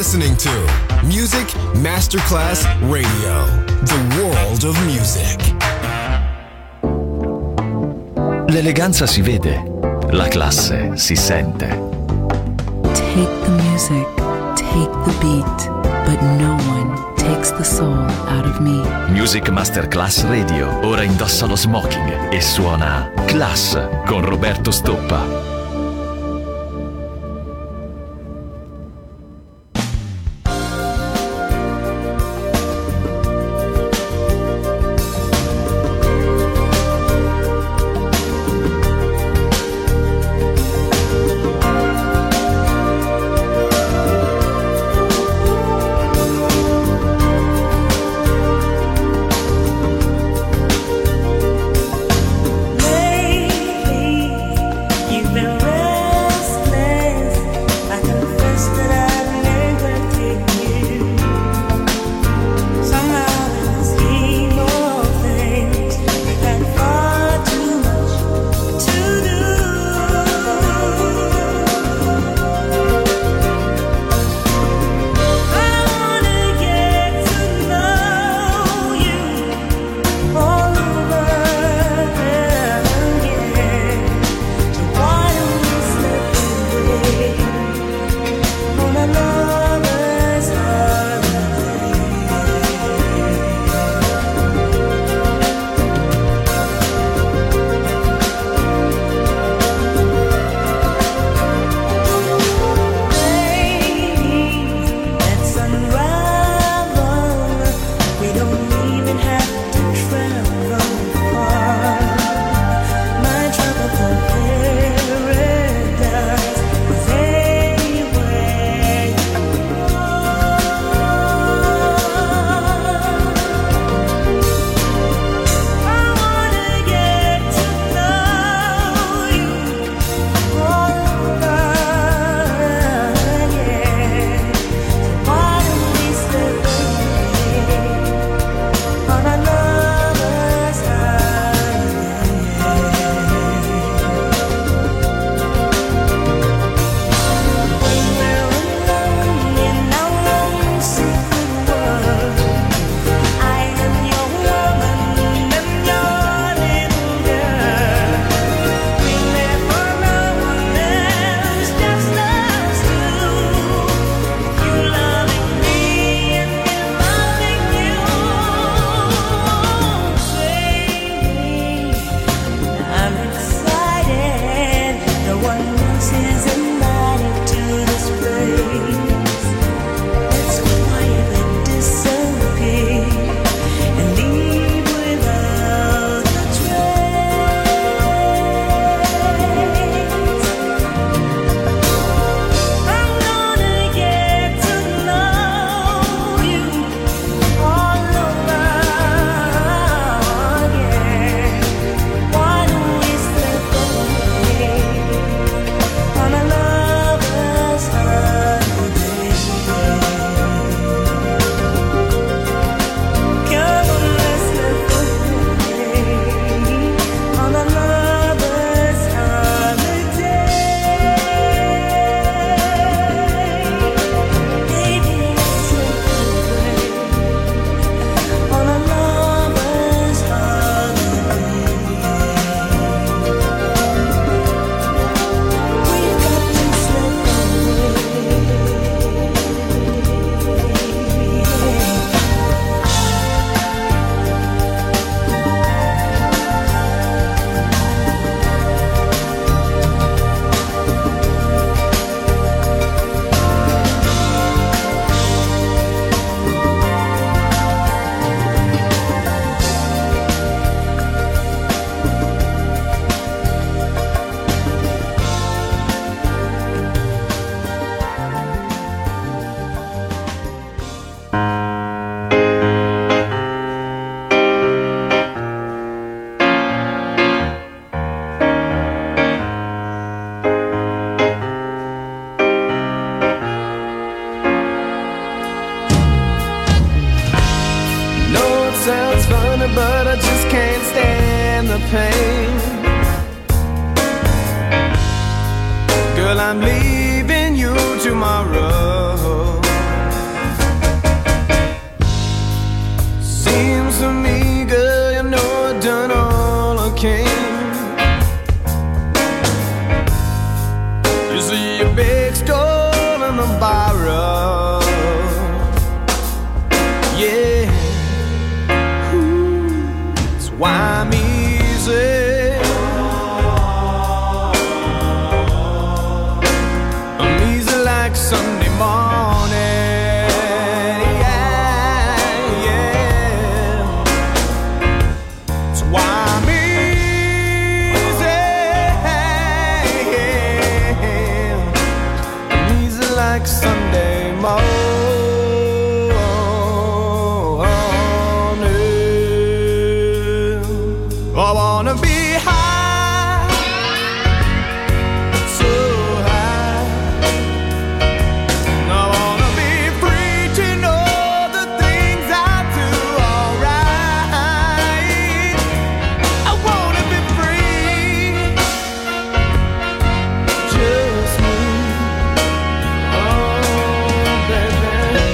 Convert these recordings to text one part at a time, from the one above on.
listening to Music Masterclass Radio, the world of music. L'eleganza si vede, la classe si sente. Take the music, take the beat, but no one takes the soul out of me. Music Masterclass Radio, ora indossa lo smoking e suona Class con Roberto Stoppa. Lately, you've been Sunday morning. I wanna be high, so high. I wanna be free to know the things I do alright. I wanna be free, just me. Oh, baby.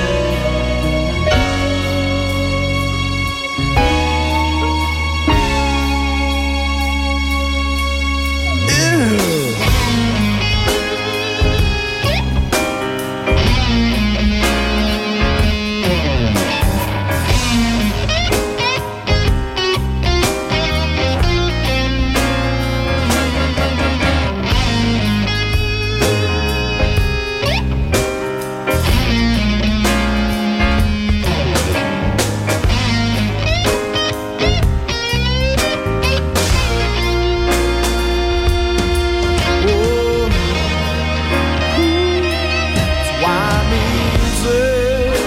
Why music?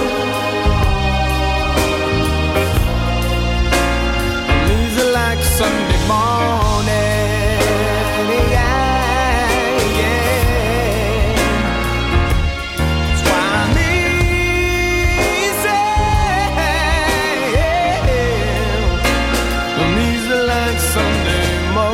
Music like Sunday morning. Yeah, yeah. It's why music. Music like Sunday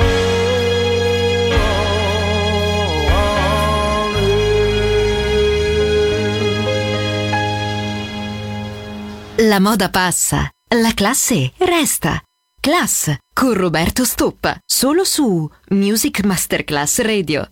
morning. La moda passa, la classe resta. Class con Roberto Stoppa, solo su Music Masterclass Radio.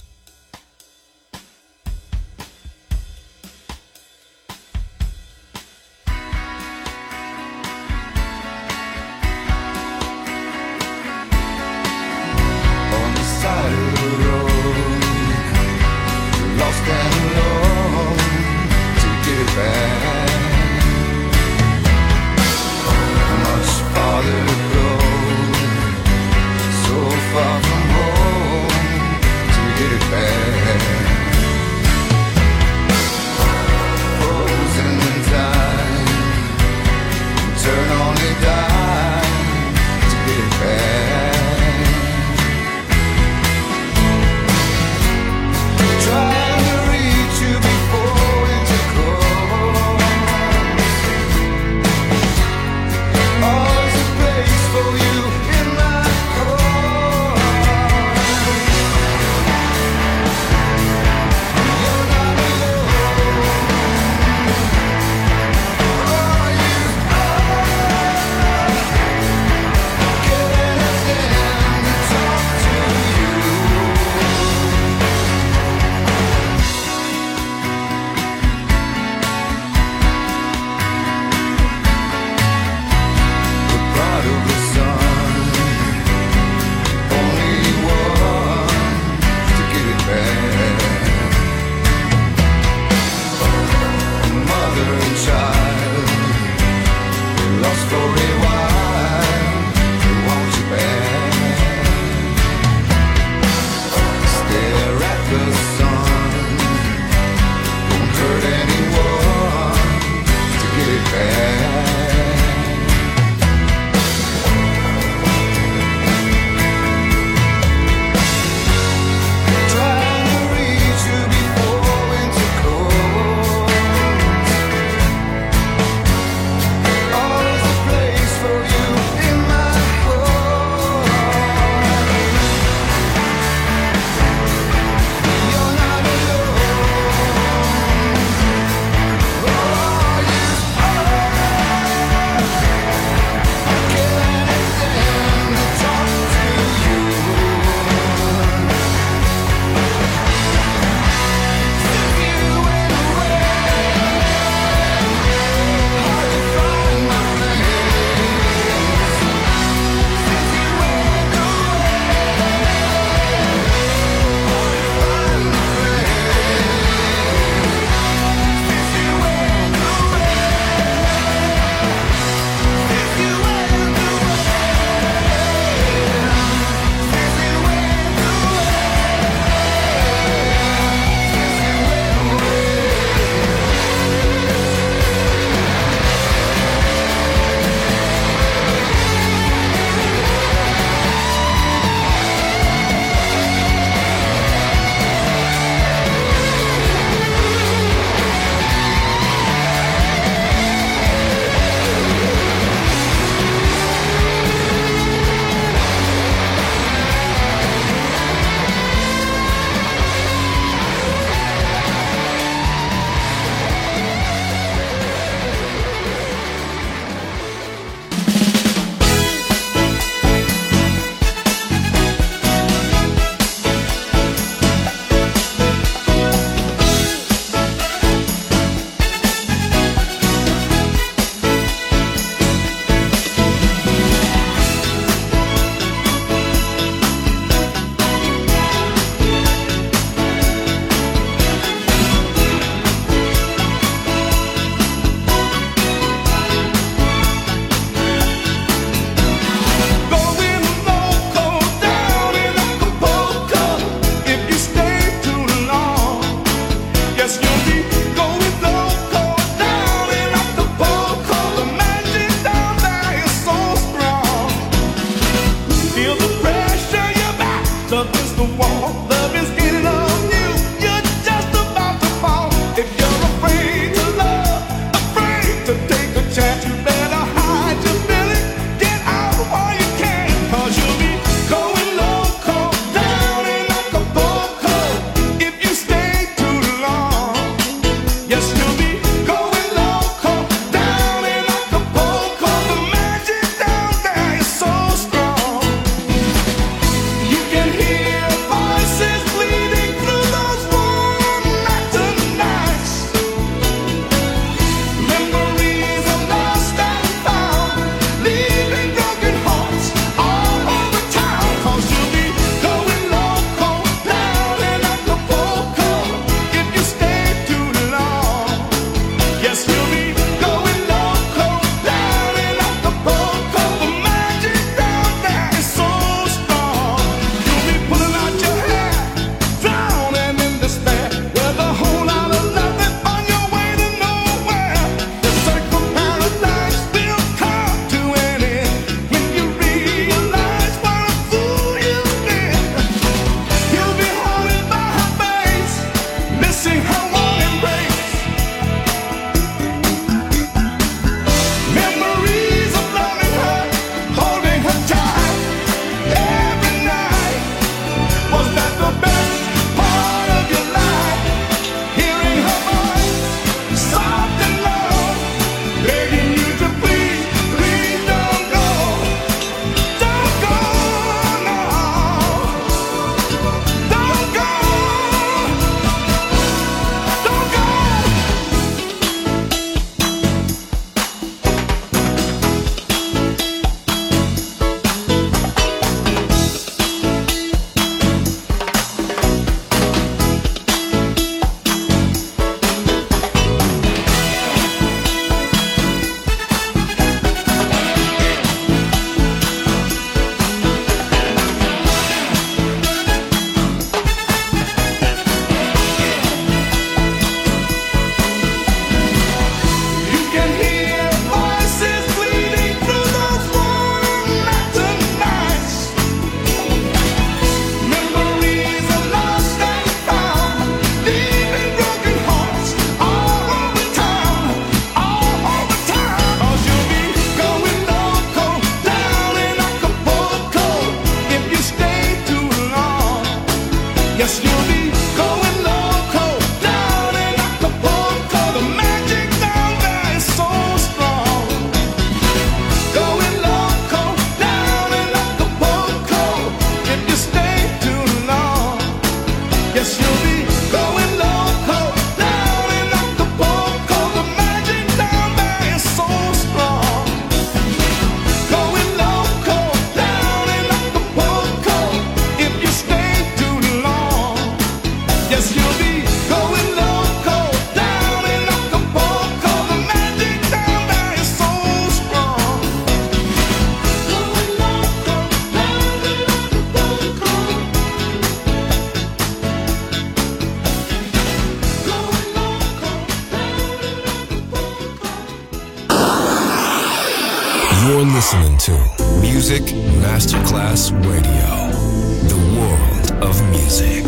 On the side of the road, lost and alone, to get back. Much farther to go, so far from home, to You're listening to Music Masterclass Radio, the world of music.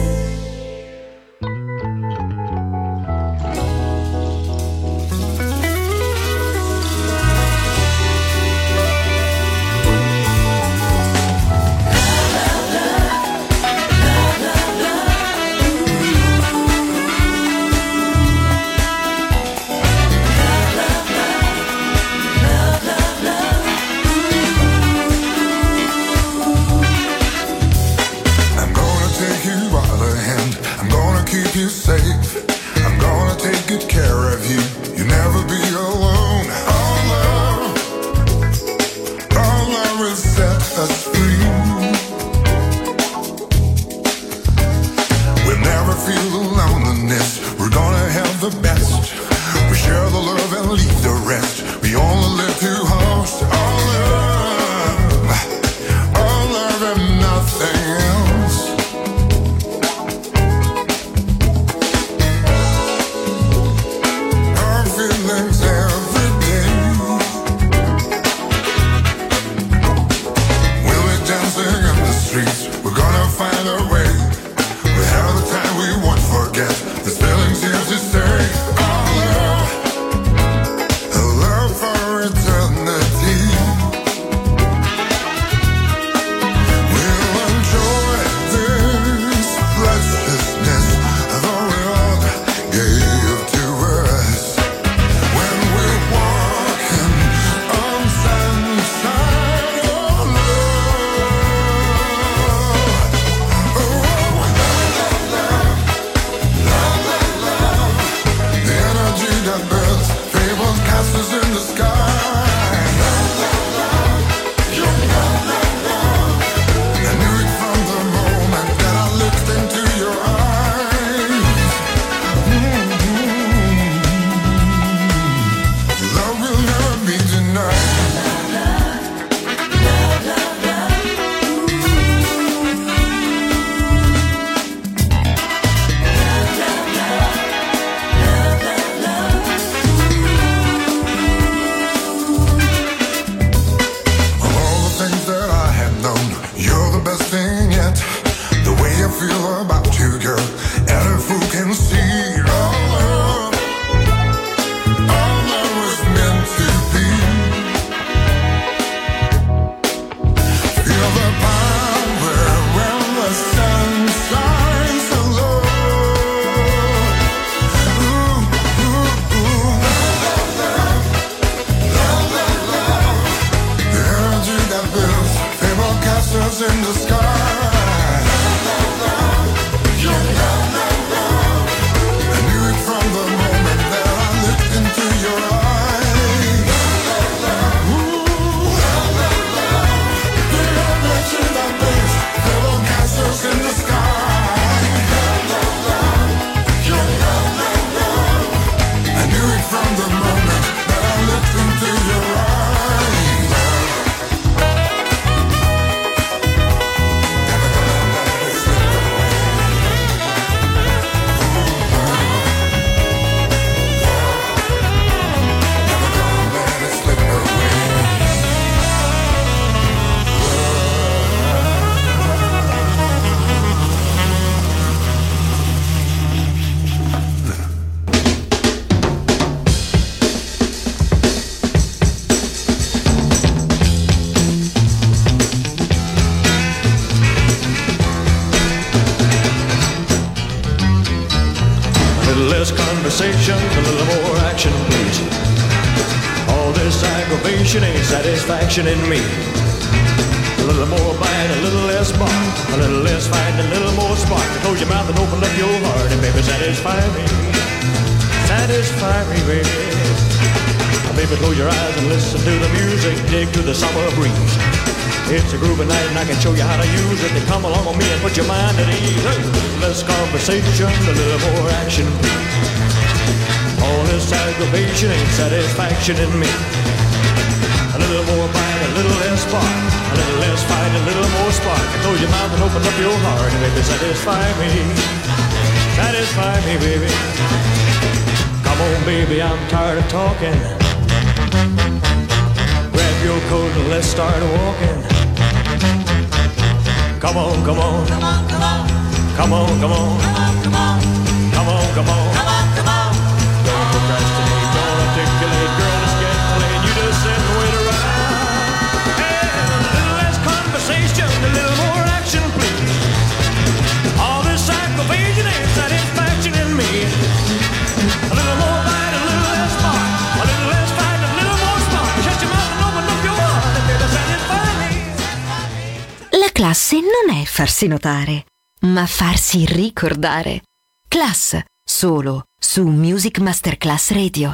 Satisfaction in me. A little more bite, a little less bark, a little less fight, a little more spark. Close your mouth and open up your heart, and baby, satisfy me. Satisfy me, baby. Baby, close your eyes and listen to the music, dig to the summer breeze. It's a groovy night and I can show you how to use it. Then come along with me and put your mind at ease. A little less conversation, a little more action, please. All this aggravation ain't satisfaction in me. A little more bite, a little less spark, a little less fight, a little more spark. Close your mouth and open up your heart, and baby, satisfy me. Satisfy me, baby. Come on, baby, I'm tired of talking. Grab up your coat and let's start walking. Come on, come on. Come on, come on. Come on, come on. Come on, come on. Come on, come on. Come on, come on. Don't procrastinate, don't articulate, girl, it's getting late. You just sit and wait around. Hey, a little less conversation, a little more action, please. All this aggravation ain't satisfaction in me. A little more bite, a little less spark. A little less fight, a little more spark. Shut your mouth and open up your heart and baby, satisfy me. La classe non è farsi notare, ma farsi ricordare. Class, solo su Music Masterclass Radio.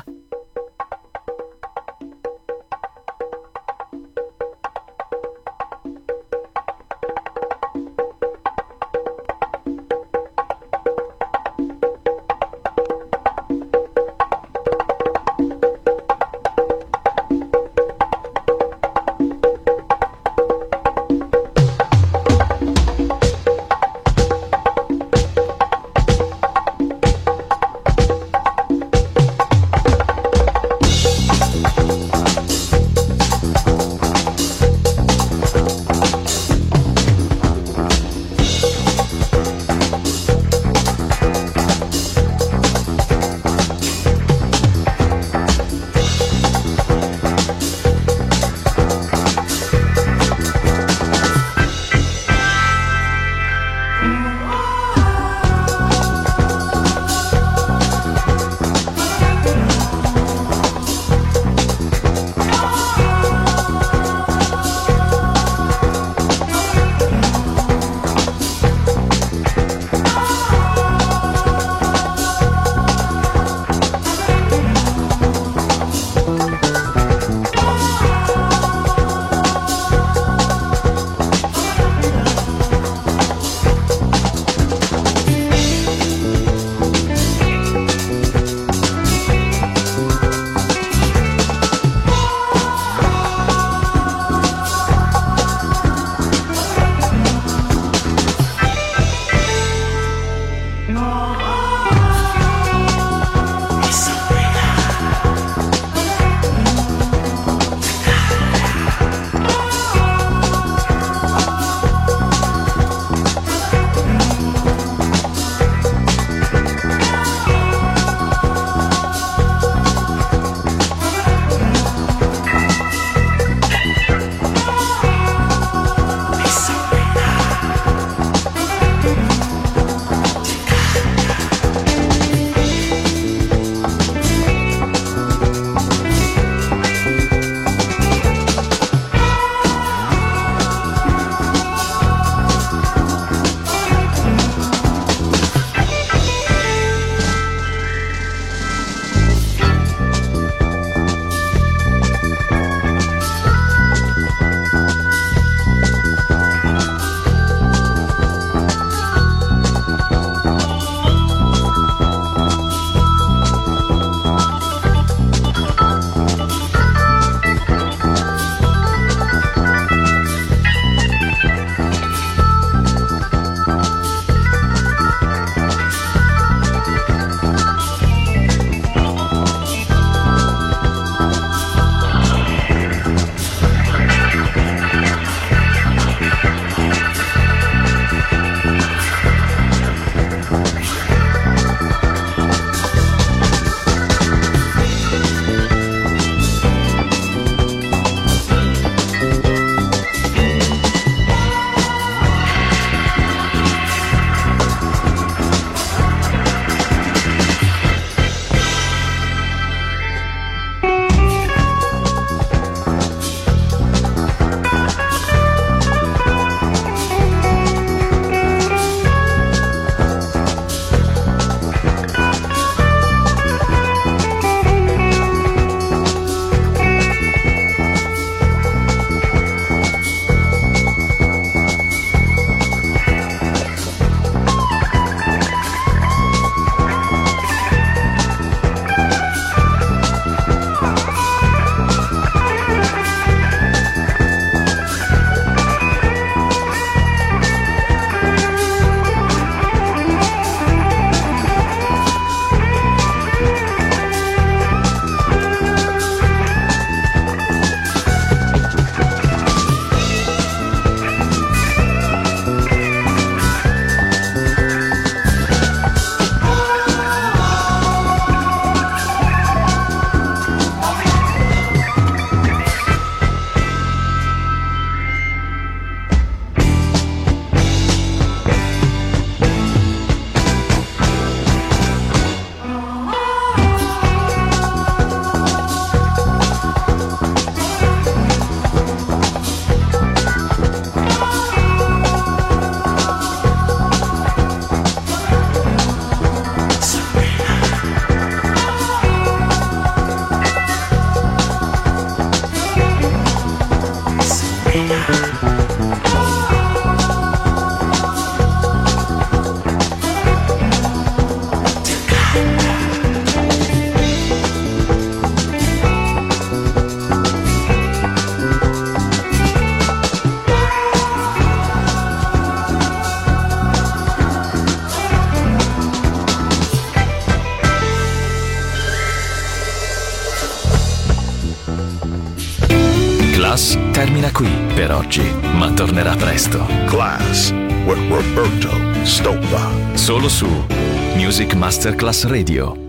Class termina qui per oggi, ma tornerà presto. Class with Roberto Stoppa. Solo su Music Masterclass Radio.